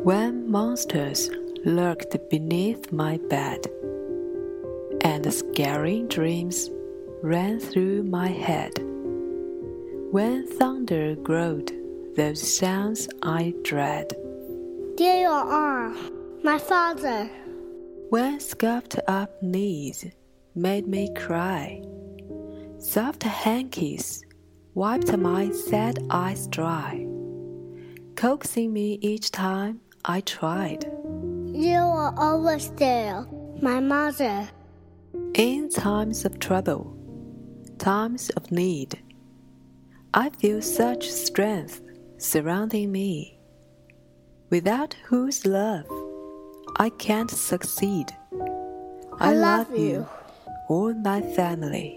When monsters lurked beneath my bed, and scary dreams ran through my head, when thunder growled those sounds I dread, There you are, my father. when scuffed up knees made me cry, soft hankies wiped my sad eyes dry, coaxing me each time I tried. You are always there, my mother. In times of trouble, times of need, I feel such strength surrounding me, without whose love I can't succeed. I love you, all my family.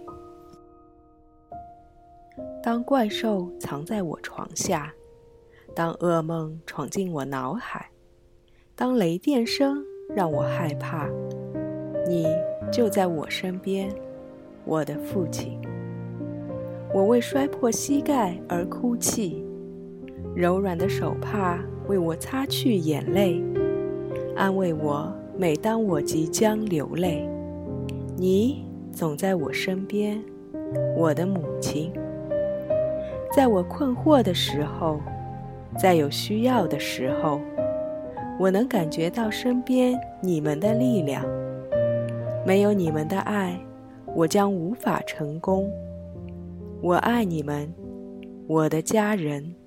当怪兽藏在我床下，当噩梦闯进我脑海，当雷电声让我害怕，你就在我身边，我的父亲。我为摔破膝盖而哭泣，柔软的手帕为我擦去眼泪，安慰我每当我即将流泪。你总在我身边，我的母亲。在我困惑的时候，在有需要的时候，我能感觉到身边你们的力量。没有你们的爱，我将无法成功。我爱你们，我的家人。